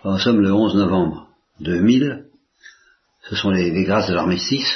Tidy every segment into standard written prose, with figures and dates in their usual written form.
Nous sommes le 11 novembre 2000, ce sont les grâces de l'armistice,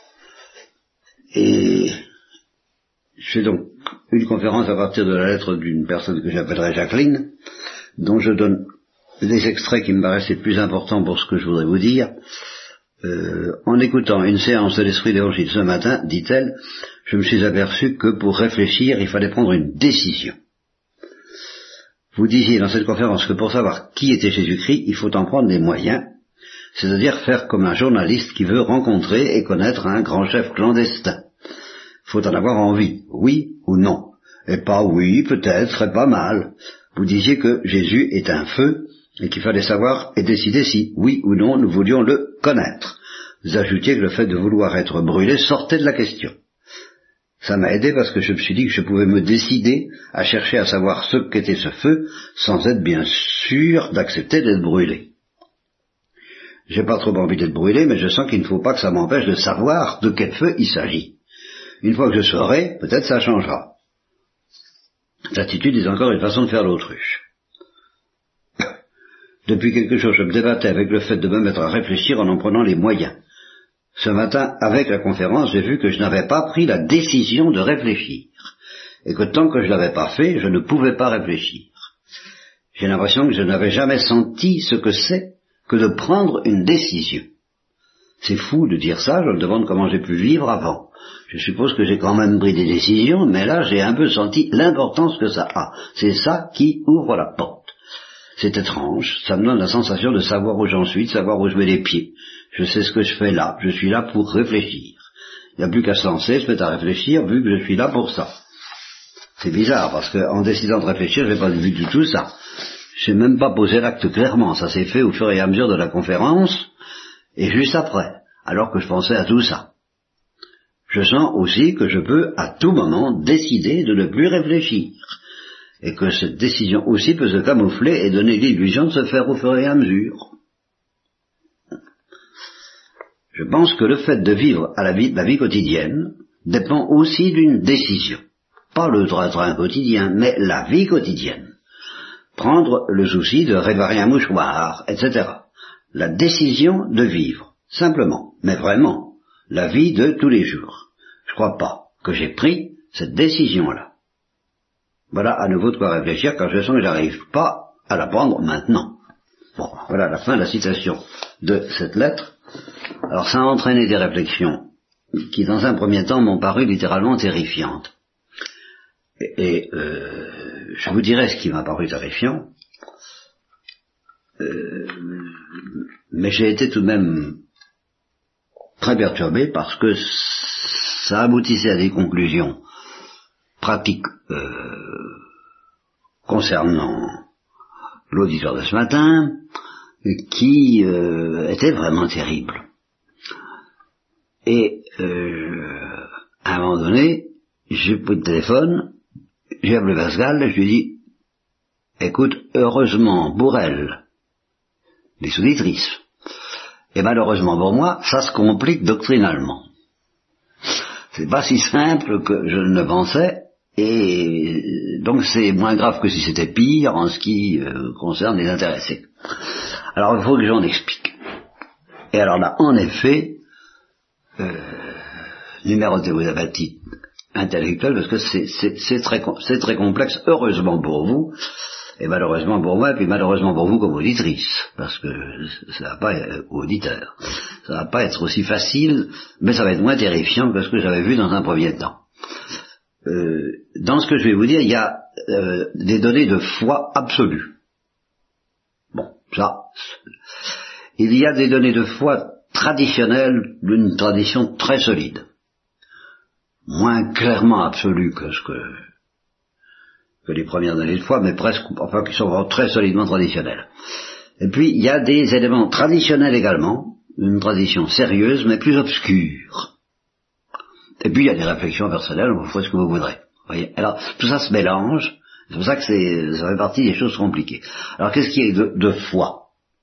et je fais donc une conférence à partir de la lettre d'une personne que j'appellerai Jacqueline, dont je donne les extraits qui me paraissent les plus importants pour ce que je voudrais vous dire. En écoutant une séance de l'Esprit d'Évangile ce matin, dit-elle, je me suis aperçu que pour réfléchir, il fallait prendre une décision. Vous disiez dans cette conférence que pour savoir qui était Jésus-Christ, il faut en prendre les moyens, c'est-à-dire faire comme un journaliste qui veut rencontrer et connaître un grand chef clandestin. Il faut en avoir envie, oui ou non. Et pas oui, peut-être, et pas mal. Vous disiez que Jésus est un feu, et qu'il fallait savoir et décider si, oui ou non, nous voulions le connaître. Vous ajoutiez que le fait de vouloir être brûlé sortait de la question. Ça m'a aidé parce que je me suis dit que je pouvais me décider à chercher à savoir ce qu'était ce feu, sans être bien sûr d'accepter d'être brûlé. J'ai pas trop envie d'être brûlé, mais je sens qu'il ne faut pas que ça m'empêche de savoir de quel feu il s'agit. Une fois que je saurai, peut-être ça changera. Cette attitude est encore une façon de faire l'autruche. Depuis quelque chose, je me débattais avec le fait de me mettre à réfléchir en prenant les moyens. Ce matin, avec la conférence, j'ai vu que je n'avais pas pris la décision de réfléchir, et que tant que je ne l'avais pas fait, je ne pouvais pas réfléchir. J'ai l'impression que je n'avais jamais senti ce que c'est que de prendre une décision. C'est fou de dire ça, je me demande comment j'ai pu vivre avant. Je suppose que j'ai quand même pris des décisions, mais là j'ai un peu senti l'importance que ça a. C'est ça qui ouvre la porte. C'est étrange, ça me donne la sensation de savoir où j'en suis, de savoir où je mets les pieds. Je sais ce que je fais là, je suis là pour réfléchir. Il n'y a plus qu'à se lancer, se mettre à réfléchir, vu que je suis là pour ça. C'est bizarre, parce qu'en décidant de réfléchir, j'ai pas vu du tout ça. J'ai même pas posé l'acte clairement, ça s'est fait au fur et à mesure de la conférence, et juste après, alors que je pensais à tout ça. Je sens aussi que je peux, à tout moment, décider de ne plus réfléchir. Et que cette décision aussi peut se camoufler et donner l'illusion de se faire au fur et à mesure. Je pense que le fait de vivre à la vie quotidienne dépend aussi d'une décision. Pas le train quotidien, mais la vie quotidienne. Prendre le souci de réparer un mouchoir, etc. La décision de vivre, simplement, mais vraiment, la vie de tous les jours. Je crois pas que j'ai pris cette décision-là. Voilà à nouveau de quoi réfléchir quand je sens que j'arrive pas à la prendre maintenant. Bon, voilà la fin de la citation de cette lettre. Alors ça a entraîné des réflexions qui dans un premier temps m'ont paru littéralement terrifiantes. Et je vous dirai ce qui m'a paru terrifiant. Mais j'ai été tout de même très perturbé parce que ça aboutissait à des conclusions pratiques concernant l'auditeur de ce matin qui était vraiment terrible. Et à un moment donné, j'ai pris le téléphone, j'ai appelé Pascal, je lui ai dit, écoute, heureusement pour elle, les auditrices, et malheureusement pour moi, ça se complique doctrinalement. C'est pas si simple que je ne le pensais, et donc c'est moins grave que si c'était pire en ce qui concerne les intéressés. Alors il faut que j'en explique. Et alors là, en effet, numérotez vos apaties intellectuelles, parce que c'est très complexe, heureusement pour vous, et malheureusement pour moi, et puis malheureusement pour vous comme auditrice, parce que ça va pas être auditeur, ça va pas être aussi facile, mais ça va être moins terrifiant que ce que j'avais vu dans un premier temps. Dans ce que je vais vous dire, il y a des données de foi absolue. Bon, ça, il y a des données de foi traditionnelles d'une tradition très solide, moins clairement absolue que les premières données de foi, mais presque, enfin, qui sont vraiment très solidement traditionnelles. Et puis, il y a des éléments traditionnels également, une tradition sérieuse, mais plus obscure. Et puis, il y a des réflexions personnelles, vous faites ce que vous voudrez. Voyez. Alors, tout ça se mélange, c'est pour ça que ça fait partie des choses compliquées. Alors, qu'est-ce qu'il y a de foi?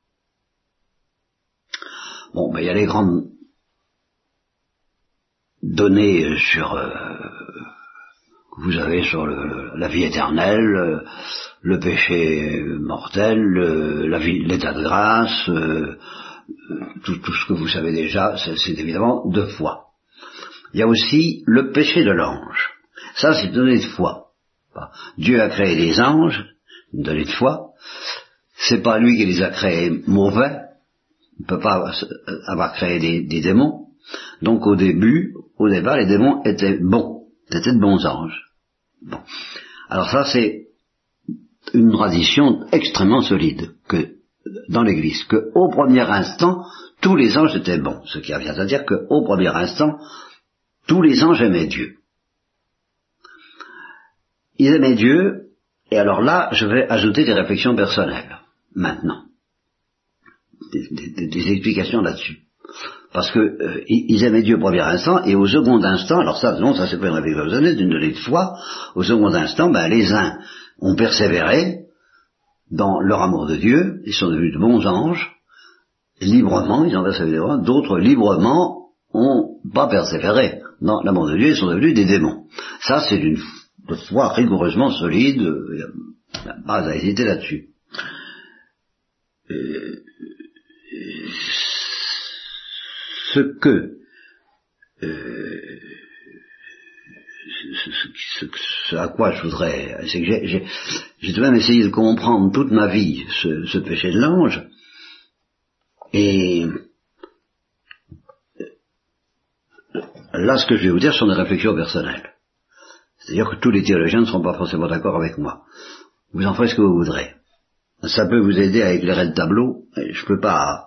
Bon, ben, il y a les grandes données sur que vous avez sur la vie éternelle, le péché mortel, l'état de grâce, tout ce que vous savez déjà, c'est évidemment de foi. Il y a aussi le péché de l'ange. Ça, c'est une donnée de foi. Dieu a créé les anges, une donnée de foi. C'est pas lui qui les a créés mauvais. Il ne peut pas avoir créé des démons. Donc au départ, les démons étaient bons. C'était de bons anges. Bon. Alors ça, c'est une tradition extrêmement solide que dans l'Église, que au premier instant, tous les anges étaient bons. Ce qui revient à dire qu'au premier instant, tous les anges aimaient Dieu. Ils aimaient Dieu, et alors là, je vais ajouter des réflexions personnelles, maintenant. Des explications là-dessus. Parce que ils aimaient Dieu au premier instant, et au second instant, alors ça, non, ça c'est pas une réflexion personnelle, c'est une donnée de foi, au second instant, les uns ont persévéré dans leur amour de Dieu, ils sont devenus de bons anges, librement, ils ont persévéré, d'autres librement ont pas persévéré dans l'amour de Dieu, ils sont devenus des démons. Ça, c'est une foi rigoureusement solide, il n'y a pas à hésiter là-dessus. Ce à quoi je voudrais, c'est que j'ai tout de même essayé de comprendre toute ma vie ce péché de l'ange, et là ce que je vais vous dire sont des réflexions personnelles. C'est-à-dire que tous les théologiens ne seront pas forcément d'accord avec moi. Vous en ferez ce que vous voudrez. Ça peut vous aider à éclairer le tableau, et je peux pas...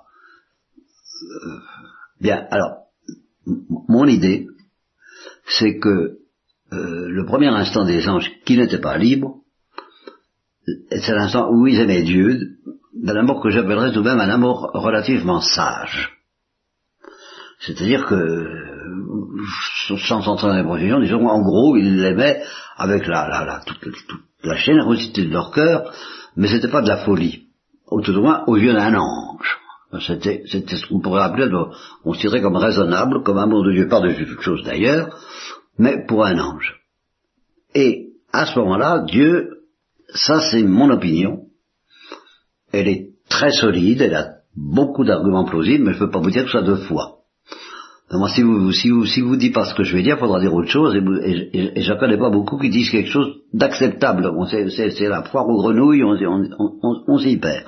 Bien, alors, mon idée, c'est que le premier instant des anges qui n'étaient pas libres, c'est l'instant où ils aimaient Dieu, d'un amour que j'appellerais tout de même un amour relativement sage. C'est-à-dire que, sans entrer dans les précisions, disons, en gros, ils l'aimaient avec toute la générosité de leur cœur, mais c'était pas de la folie. Au tout au moins, aux yeux d'un ange. C'était ce qu'on pourrait appeler, considérer comme raisonnable, comme amour de Dieu par-dessus toute chose d'ailleurs, mais pour un ange. Et à ce moment-là, Dieu, ça c'est mon opinion, elle est très solide, elle a beaucoup d'arguments plausibles, mais je ne peux pas vous dire que ça de foi. Donc, si vous dites pas ce que je vais dire, il faudra dire autre chose, et je ne connais pas beaucoup qui disent quelque chose d'acceptable. Bon, c'est la foire aux grenouilles, on s'y perd.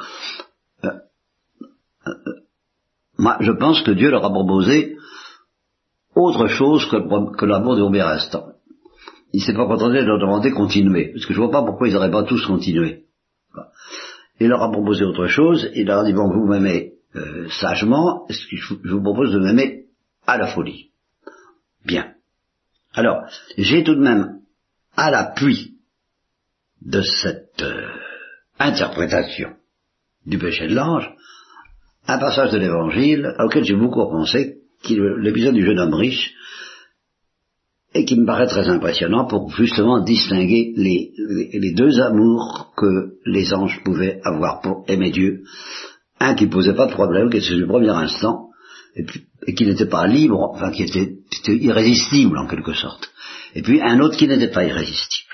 Moi, je pense que Dieu leur a proposé autre chose que l'amour du premier instant. Il ne s'est pas contenté de leur demander continuer, parce que je ne vois pas pourquoi ils n'auraient pas tous continué. Il leur a proposé autre chose, il leur a dit, bon, vous m'aimez sagement, est-ce que je vous propose de m'aimer à la folie. Bien. Alors, j'ai tout de même, à l'appui de cette interprétation du péché de l'ange, un passage de l'Évangile auquel j'ai beaucoup pensé, qui est l'épisode du jeune homme riche, et qui me paraît très impressionnant pour justement distinguer les deux amours que les anges pouvaient avoir pour aimer Dieu. Un qui ne posait pas de problème, qui était le premier instant, et qui n'était pas libre, enfin qui était irrésistible en quelque sorte. Et puis un autre qui n'était pas irrésistible.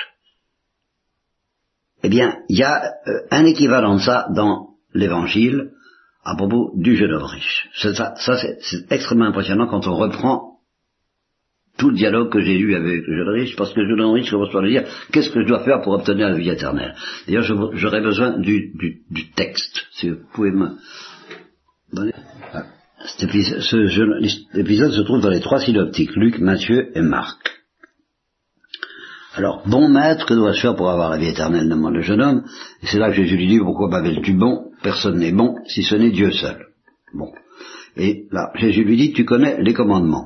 Eh bien, il y a un équivalent de ça dans l'Évangile à propos du jeune homme riche. Ça c'est extrêmement impressionnant quand on reprend tout le dialogue que j'ai eu avec le jeune riche, parce que le jeune riche commence par lui dire « Qu'est-ce que je dois faire pour obtenir la vie éternelle ?» D'ailleurs, j'aurais besoin du texte, si vous pouvez me donner... Cet épisode se trouve dans les 3 synoptiques, Luc, Matthieu et Marc. Alors, bon maître, que dois-je faire pour avoir la vie éternelle, demande le jeune homme. Et c'est là que Jésus lui dit, pourquoi m'appelles-tu bon? Personne n'est bon, si ce n'est Dieu seul. Bon. Et là, Jésus lui dit, tu connais les commandements.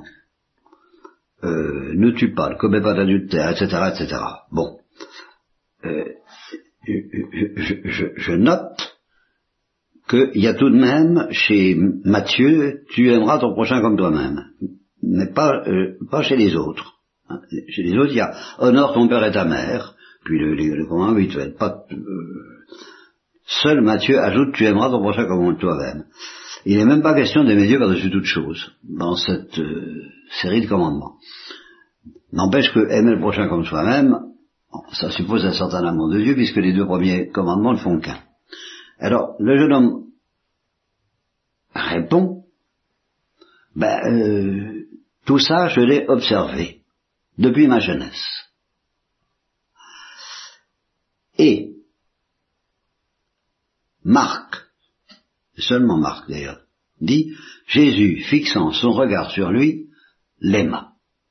Ne tue pas, ne commets pas d'adultère, etc., etc. Bon. Je note qu'il y a tout de même, chez Matthieu, tu aimeras ton prochain comme toi-même. Mais pas chez les autres. Chez les autres, il y a honore ton père et ta mère, puis le commandement habituel. Seul Matthieu ajoute tu aimeras ton prochain comme toi-même. Il n'est même pas question d'aimer Dieu par-dessus toute chose dans cette série de commandements. N'empêche que aimer le prochain comme soi-même, ça suppose un certain amour de Dieu, puisque les 2 premiers commandements ne font qu'un. Alors, le jeune homme répond, tout ça, je l'ai observé depuis ma jeunesse. Et Marc, seulement Marc d'ailleurs, dit, Jésus, fixant son regard sur lui, l'aima.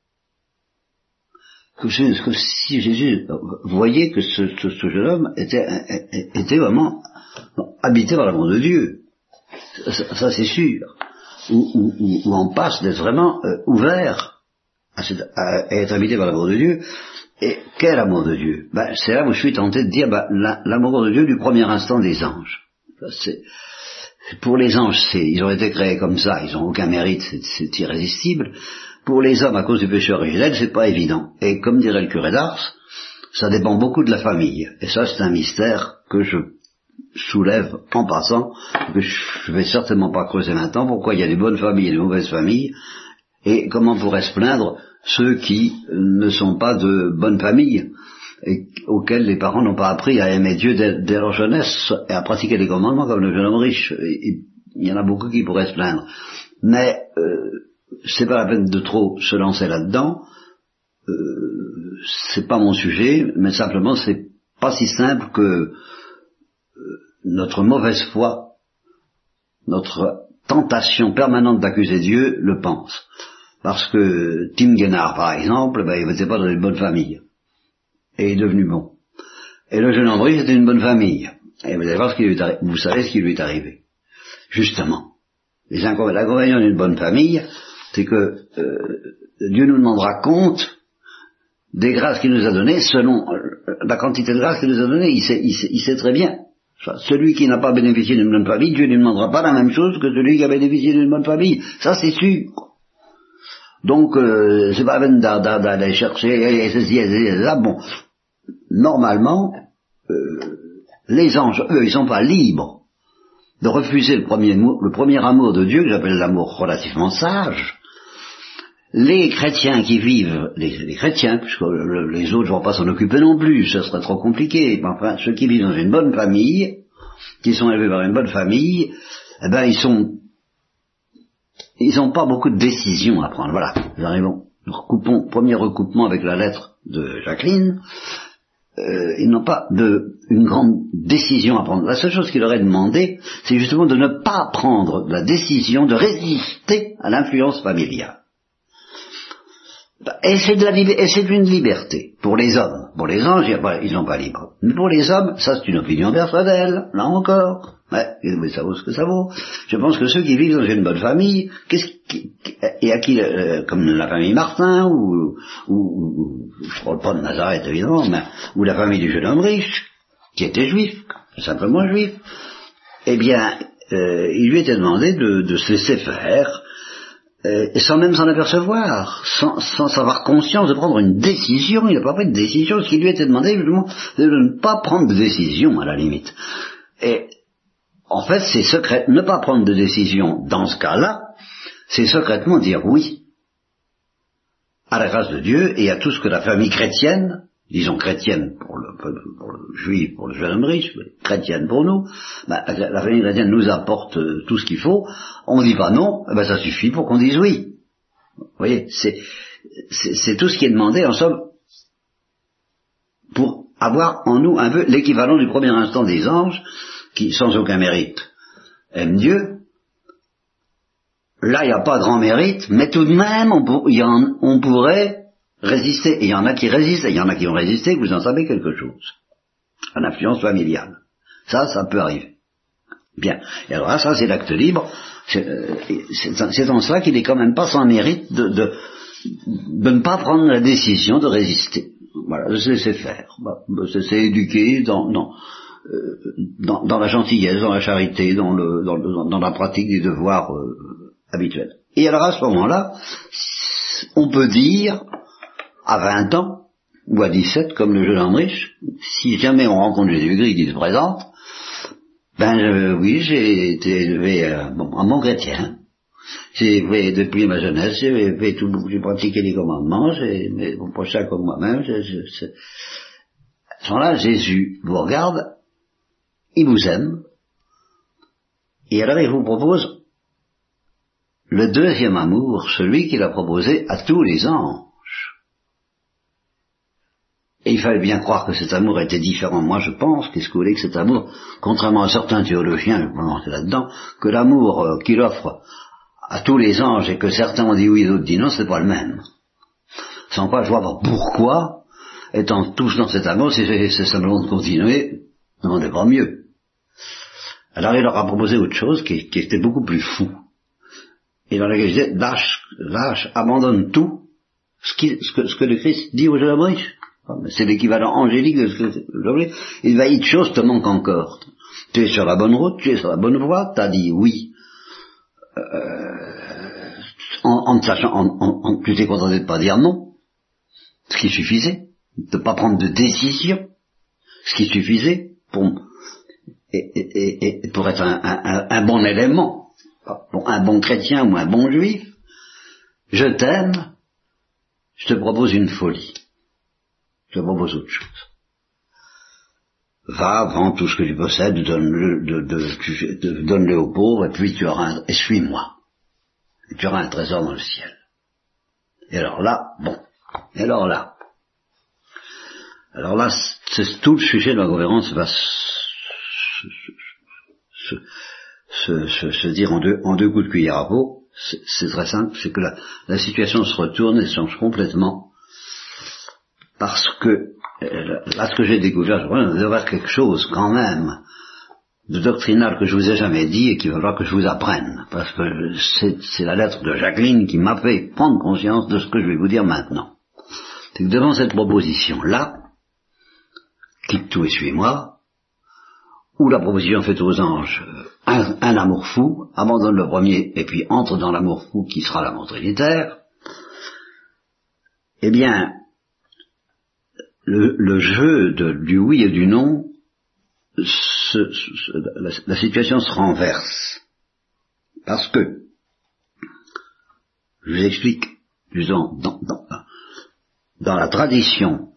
Que si Jésus voyait que ce jeune homme était vraiment habité par l'amour de Dieu, ça c'est sûr, ou en passe d'être vraiment ouvert à être habité par l'amour de Dieu. Et quel amour de Dieu? C'est là où je suis tenté de dire l'amour de Dieu du premier instant des anges. Pour les anges, ils ont été créés comme ça, ils n'ont aucun mérite, c'est irrésistible. Pour les hommes, à cause du péché originel, c'est pas évident. Et comme dirait le curé d'Ars, ça dépend beaucoup de la famille. Et ça, c'est un mystère que je soulève en passant, que je vais certainement pas creuser maintenant, pourquoi il y a des bonnes familles et des mauvaises familles, et comment pourraient se plaindre ceux qui ne sont pas de bonnes familles, et auxquels les parents n'ont pas appris à aimer Dieu dès leur jeunesse, et à pratiquer les commandements comme le jeune homme riche. Il y en a beaucoup qui pourraient se plaindre. Mais c'est pas la peine de trop se lancer là-dedans, c'est pas mon sujet, mais simplement c'est pas si simple que notre mauvaise foi, notre tentation permanente d'accuser Dieu le pense. Parce que Tim Guénard, par exemple, il n'était pas dans une bonne famille. Et il est devenu bon. Et le jeune Ambry, c'était une bonne famille. Et vous allez voir vous savez ce qui lui est arrivé. Justement. L'inconvénient d'une bonne famille, c'est que Dieu nous demandera compte des grâces qu'il nous a données selon la quantité de grâces qu'il nous a données. Il sait très bien. Celui qui n'a pas bénéficié d'une bonne famille, Dieu ne lui demandera pas la même chose que celui qui a bénéficié d'une bonne famille. Ça, c'est sûr. Donc, c'est pas la peine d'aller chercher ceci et là. Bon, normalement, les anges, eux, ils sont pas libres de refuser le premier amour de Dieu, que j'appelle l'amour relativement sage. Les chrétiens qui vivent, les chrétiens, puisque les autres ne vont pas s'en occuper non plus, ce serait trop compliqué, enfin, ceux qui vivent dans une bonne famille, qui sont élevés par une bonne famille, ils n'ont pas beaucoup de décisions à prendre. Voilà, nous arrivons. Premier recoupement avec la lettre de Jacqueline. Ils n'ont pas une grande décision à prendre. La seule chose qu'il leur est demandé, c'est justement de ne pas prendre la décision de résister à l'influence familiale. Et c'est une liberté pour les hommes. Pour les anges, ils sont pas libres. Mais pour les hommes, ça c'est une opinion personnelle, là encore. Mais ça vaut ce que ça vaut. Je pense que ceux qui vivent dans une bonne famille, et à qui, comme la famille Martin, ou je parle pas de Nazareth évidemment, mais, ou la famille du jeune homme riche, qui était juif, simplement juif, eh bien, il lui était demandé de se laisser faire, et sans même s'en apercevoir, sans avoir conscience de prendre une décision. Il n'a pas pris de décision, ce qui lui était demandé justement de ne pas prendre de décision à la limite. Et en fait, c'est secret. Ne pas prendre de décision dans ce cas-là, c'est secrètement dire oui à la grâce de Dieu et à tout ce que la famille chrétienne, disons chrétienne pour le juif, pour le jeune homme riche, mais chrétienne pour nous, la famille chrétienne nous apporte tout ce qu'il faut. On ne dit pas non, ça suffit pour qu'on dise oui. Vous voyez, c'est tout ce qui est demandé en somme pour avoir en nous un peu l'équivalent du premier instant des anges qui, sans aucun mérite, aiment Dieu. Là, il n'y a pas grand mérite, mais tout de même, on pourrait résister. Et il y en a qui résistent, et il y en a qui ont résisté, vous en savez quelque chose. À l'influence familiale. Ça peut arriver. Bien. Et alors là, ça, c'est l'acte libre. C'est en cela qu'il est quand même pas sans mérite de ne pas prendre la décision de résister. Voilà, de se laisser faire. De se laisser éduquer dans la gentillesse, dans la charité, dans la pratique des devoirs habituels. Et alors à ce moment-là, on peut dire, à 20 ans, ou à 17, comme le jeune homme riche, si jamais on rencontre Jésus-Christ qui se présente, oui, j'ai été élevé un bon chrétien. Depuis ma jeunesse, j'ai pratiqué les commandements, mais mon prochain comme moi-même, à ce moment-là, Jésus vous regarde, il vous aime, et alors il vous propose le deuxième amour, celui qu'il a proposé à tous les anges. Et il fallait bien croire que cet amour était différent. Moi, je pense, qu'est-ce que vous voulez, que cet amour, contrairement à certains théologiens, je vais pas rentrer là-dedans, que l'amour qu'il offre à tous les anges et que certains ont dit oui et d'autres dit non, c'est pas le même. Sans quoi, je vois pas pourquoi, étant tous dans cet amour, si c'est simplement de continuer, on n'est pas mieux. Alors il leur a proposé autre chose qui était beaucoup plus fou. Et dans laquelle il disait, lâche, abandonne tout, ce que le Christ dit aux jeunes riches. C'est l'équivalent angélique de ce que il va, une chose te manque encore. Tu es sur la bonne route, tu es sur la bonne voie, tu as dit oui. Tu t'es contenté de ne pas dire non, ce qui suffisait, de ne pas prendre de décision, ce qui suffisait pour être un bon élément, un bon chrétien ou un bon juif. Je t'aime, je te propose une folie. Je te propose autre chose. Va, vends tout ce que tu possèdes, donne-le aux pauvres, et puis et suis-moi. Et tu auras un trésor dans le ciel. Et alors là, c'est tout le sujet de la conférence va se dire en deux coups de cuillère à peau. C'est très simple, c'est que la situation se retourne et change complètement. Parce que, là, ce que j'ai découvert, je crois, il doit y avoir quelque chose, quand même, de doctrinal que je vous ai jamais dit et qu'il va falloir que je vous apprenne. Parce que c'est la lettre de Jacqueline qui m'a fait prendre conscience de ce que je vais vous dire maintenant. C'est que devant cette proposition-là, quitte tout et suis-moi, ou la proposition faite aux anges, un amour fou, abandonne le premier et puis entre dans l'amour fou qui sera l'amour trinitaire, eh bien, le jeu du oui et du non, la situation se renverse. Parce que, je vous explique, disons, dans la tradition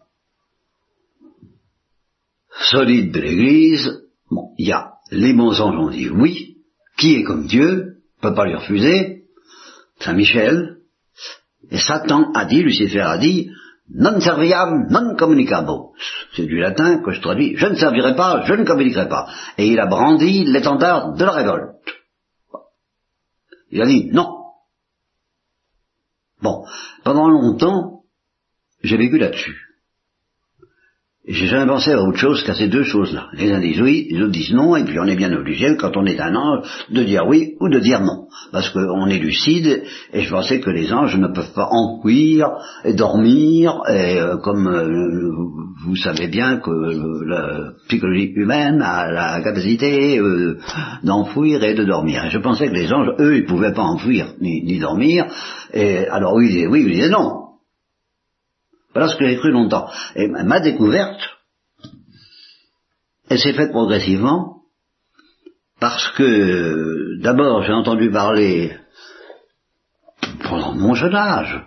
solide de l'Église, bon, il y a les bons anges ont dit oui, qui est comme Dieu, peut pas lui refuser, Saint Michel, et Satan a dit, Lucifer a dit, non serviam, non communicabo. C'est du latin que je traduis, je ne servirai pas, je ne communiquerai pas. Et il a brandi l'étendard de la révolte. Il a dit non. Bon, pendant longtemps, j'ai vécu là-dessus. Et j'ai jamais pensé à autre chose qu'à ces deux choses-là. Les uns disent oui, les autres disent non, et puis on est bien obligé, quand on est un ange, de dire oui ou de dire non. Parce qu'on est lucide, et je pensais que les anges ne peuvent pas enfouir et dormir, et comme vous savez bien que la psychologie humaine a la capacité d'enfouir et de dormir. Et je pensais que les anges, eux, ils pouvaient pas enfouir ni dormir, et alors oui, ils disaient oui, ils disaient non. Voilà ce que j'ai cru longtemps. Et ma découverte, elle s'est faite progressivement, parce que, d'abord, j'ai entendu parler, pendant mon jeune âge,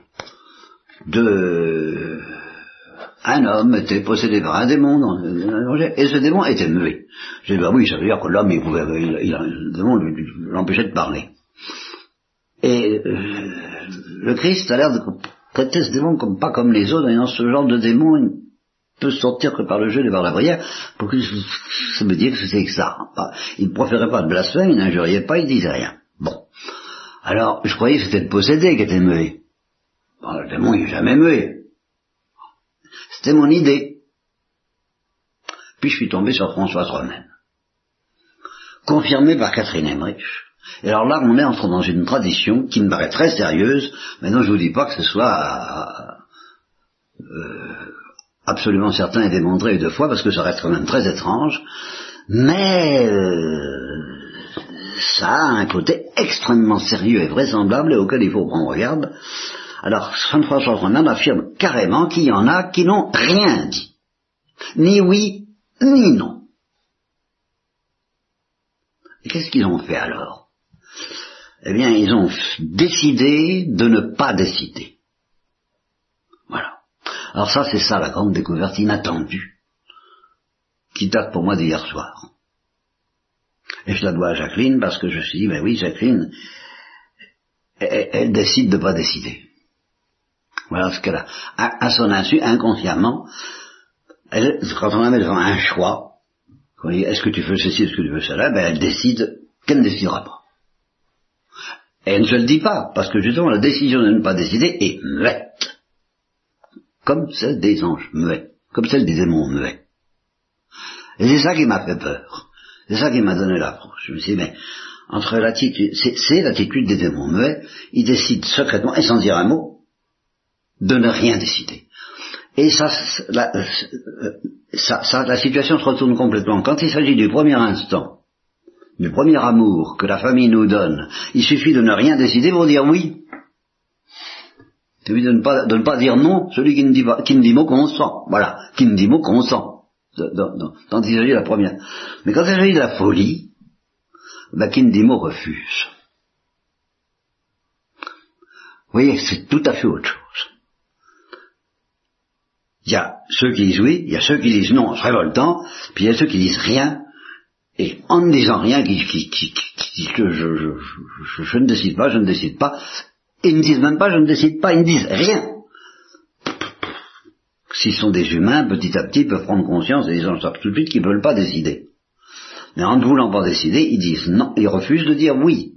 un homme était possédé par un démon, et ce démon était muet. J'ai dit, bah oui, ça veut dire que l'homme, le démon l'empêchait de parler. Et le Christ a l'air de traiter ce démon pas comme les autres, et dans ce genre de démon, il peut sortir que par le jeu et par la prière, pour que ça me dise que c'est que ça. Il ne proférait pas de blasphème, il n'injuriait pas, il disait rien. Bon. Alors, je croyais que c'était le possédé qui était muet. Bon, le démon, il n'est jamais muet. C'était mon idée. Puis je suis tombé sur Françoise Romaine, confirmé par Catherine Emmerich. Et alors là, on est entré dans une tradition qui me paraît très sérieuse. Maintenant, je vous dis pas que ce soit absolument certain et démontré deux fois, parce que ça reste quand même très étrange. Mais ça a un côté extrêmement sérieux et vraisemblable et auquel il faut prendre garde. Alors, Saint François Romain affirme carrément qu'il y en a qui n'ont rien dit. Ni oui, ni non. Et qu'est-ce qu'ils ont fait alors? eh bien, ils ont décidé de ne pas décider. Voilà. Alors ça, c'est ça la grande découverte inattendue, qui date pour moi d'hier soir. Et je la dois à Jacqueline, parce que je me suis dit, ben oui, Jacqueline, elle décide de ne pas décider. Voilà ce qu'elle a. À son insu, inconsciemment, quand on la met devant un choix, est-ce que tu veux ceci, est-ce que tu veux cela, ben elle décide qu'elle ne décidera pas. Et elle ne se le dit pas, parce que justement la décision de ne pas décider est muette. Comme celle des anges muets, comme celle des démons muets. Et c'est ça qui m'a fait peur. C'est ça qui m'a donné l'approche. Je me suis dit, mais entre l'attitude, c'est l'attitude des démons muets, ils décident secrètement, et sans dire un mot, de ne rien décider. Et la situation se retourne complètement. Quand il s'agit du premier instant, du premier amour que la famille nous donne, il suffit de ne rien décider pour dire oui. Il suffit de ne pas dire non, celui qui ne dit mot consent. Voilà, qui ne dit mot consent. Quand il s'agit de la première. Mais quand il s'agit de la folie, ben, qui ne dit mot refuse. Vous voyez, c'est tout à fait autre chose. Il y a ceux qui disent oui, il y a ceux qui disent non, c'est révoltant, puis il y a ceux qui disent rien, et en ne disant rien, qui disent que je ne décide pas, et ils ne disent même pas je ne décide pas, ils ne disent rien. S'ils sont des humains, petit à petit, peuvent prendre conscience et ils en savent tout de suite qu'ils ne veulent pas décider. Mais en ne voulant pas décider, ils disent non, ils refusent de dire oui.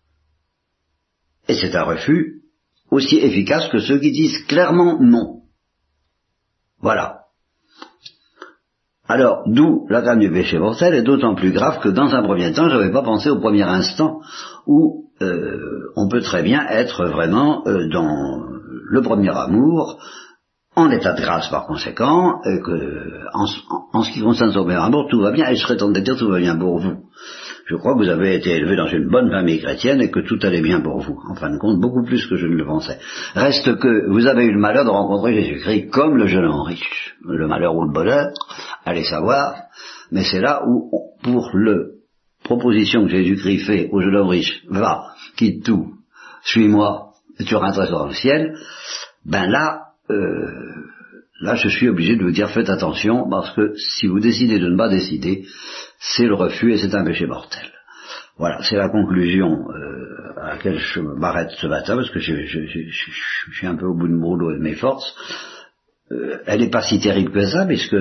Et c'est un refus aussi efficace que ceux qui disent clairement non. Voilà. Alors, d'où la gamme du péché mortel est d'autant plus grave que dans un premier temps, je n'avais pas pensé au premier instant où on peut très bien être vraiment dans le premier amour, en état de grâce par conséquent, et que en ce qui concerne son premier amour, tout va bien, et je serais tenté de dire tout va bien pour vous. Je crois que vous avez été élevé dans une bonne famille chrétienne et que tout allait bien pour vous. En fin de compte, beaucoup plus que je ne le pensais. Reste que vous avez eu le malheur de rencontrer Jésus-Christ comme le jeune homme riche. Le malheur ou le bonheur, allez savoir. Mais c'est là où, pour le proposition que Jésus-Christ fait au jeune homme riche, va, quitte tout, suis-moi, et tu auras un trésor dans le ciel, ben là, je suis obligé de vous dire faites attention, parce que si vous décidez de ne pas décider, c'est le refus et c'est un péché mortel. Voilà, c'est la conclusion à laquelle je m'arrête ce matin, parce que je suis un peu au bout de mon rouleau et de mes forces. Elle n'est pas si terrible que ça, puisque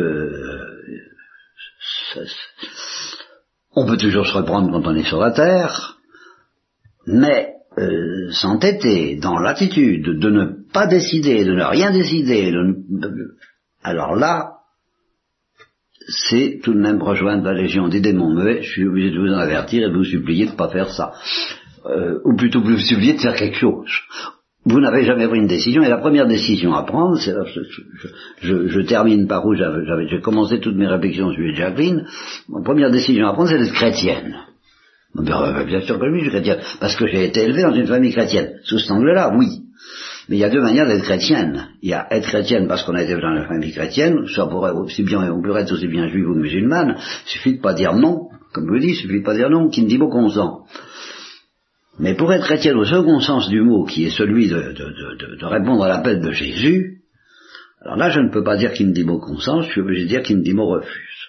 on peut toujours se reprendre quand on est sur la terre, mais s'entêter dans l'attitude de ne pas décider, de ne rien décider, alors là, c'est tout de même rejoindre la légion des démons muets. Je suis obligé de vous en avertir et de vous supplier de ne pas faire ça. Ou plutôt vous supplier de faire quelque chose. Vous n'avez jamais pris une décision, et la première décision à prendre, c'est, je termine par où j'ai commencé toutes mes réflexions sur Jacqueline, la première décision à prendre, c'est d'être chrétienne. Bien sûr que oui, je suis chrétienne, parce que j'ai été élevé dans une famille chrétienne. Sous cet angle-là, oui. Mais il y a deux manières d'être chrétienne. Il y a être chrétienne parce qu'on a été dans une famille chrétienne, ça pourrait aussi bien, on pourrait être aussi bien juif ou musulmane, il suffit de pas dire non, comme je vous dis, il suffit de pas dire non, qui ne dit mot consent. Mais pour être chrétienne au second sens du mot, qui est celui de répondre à l'appel de Jésus, alors là je ne peux pas dire qu'il me dit mot consent, je suis obligé de dire qu'il me dit mot refuse.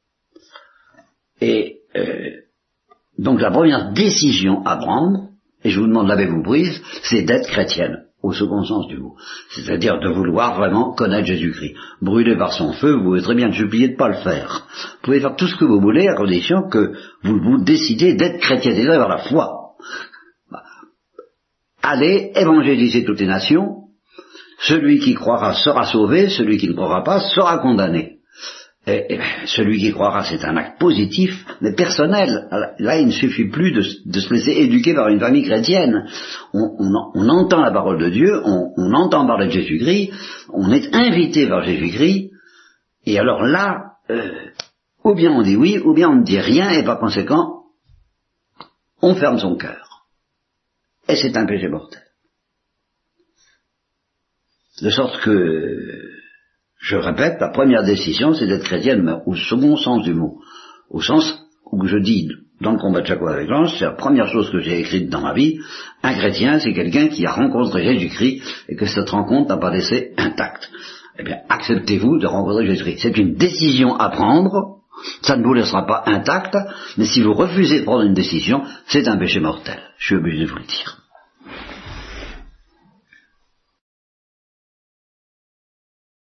Et donc la première décision à prendre, et je vous demande l'avez-vous prise, c'est d'être chrétienne, au second sens du mot. C'est-à-dire de vouloir vraiment connaître Jésus-Christ. Brûlé par son feu, vous pouvez très bien supplier de ne pas le faire. Vous pouvez faire tout ce que vous voulez, à condition que vous décidez d'être chrétien, c'est-à-dire avoir la foi. Allez évangéliser toutes les nations, celui qui croira sera sauvé, celui qui ne croira pas sera condamné. Et celui qui croira, c'est un acte positif, mais personnel. Là, il ne suffit plus de se laisser éduquer par une famille chrétienne. On entend la parole de Dieu, on entend parler de Jésus-Christ, on est invité par Jésus-Christ, et alors là, ou bien on dit oui, ou bien on ne dit rien, et par conséquent, on ferme son cœur. Et c'est un péché mortel. De sorte que, je répète, la première décision, c'est d'être chrétienne, mais au second sens du mot. Au sens où je dis, dans le combat de chaque fois avec l'ange, c'est la première chose que j'ai écrite dans ma vie. Un chrétien, c'est quelqu'un qui a rencontré Jésus-Christ et que cette rencontre n'a pas laissé intacte. Eh bien, acceptez-vous de rencontrer Jésus-Christ. C'est une décision à prendre, ça ne vous laissera pas intact, mais si vous refusez de prendre une décision, c'est un péché mortel. Je suis obligé de vous le dire.